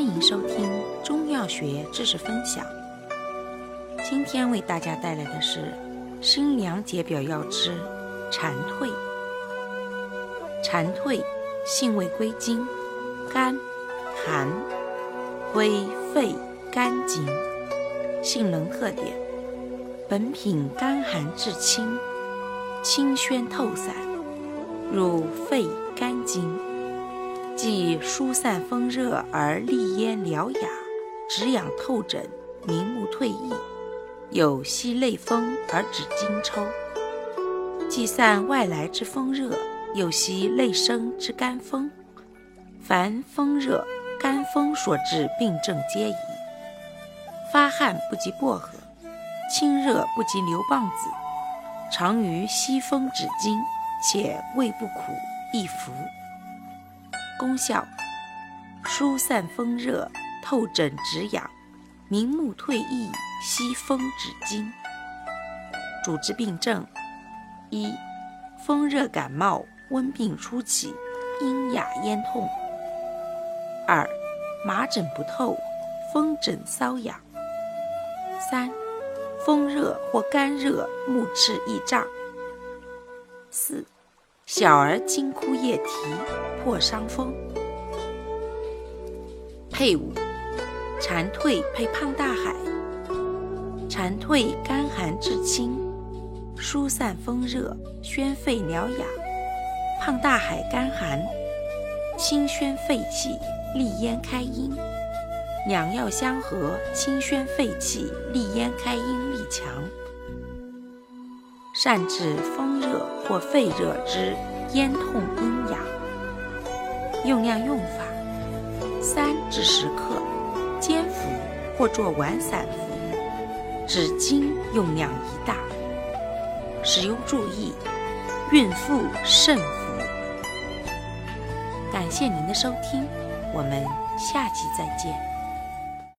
迎收听中药学知识分享。今天为大家带来的是辛凉解表药之蝉蜕。蝉蜕性味归经：甘、寒，归肺、肝经。性能特点：本品甘寒至清，清宣透散，入肺肝经，既疏散风热而利咽疗雅，止痒透疹，明目退翳，有息内风而止经抽，既散外来之风热，又息内生之肝风。凡风热、肝风所致病症皆宜。发汗不及薄荷，清热不及牛蒡子，常于息风止经，且味不苦，易服。功效：疏散风热，透疹止痒，明目退翳，息风止经。主治病症：一、风热感冒、温病初起，阴哑咽痛；二、麻疹不透，风疹瘙痒；三、风热或肝热，目赤易胀；四、小儿惊哭夜啼，破伤风。配伍：蝉蜕配胖大海。蝉蜕甘寒治清，疏散风热，宣肺疗雅；胖大海甘寒，清宣肺气，利咽开阴。两药相合，清宣肺气，利咽开阴力强，善治风热或肺热之咽痛阴痒。用量用法：3至10克，煎服或作丸散服，止经用量宜大。使用注意：孕妇慎服。感谢您的收听，我们下期再见。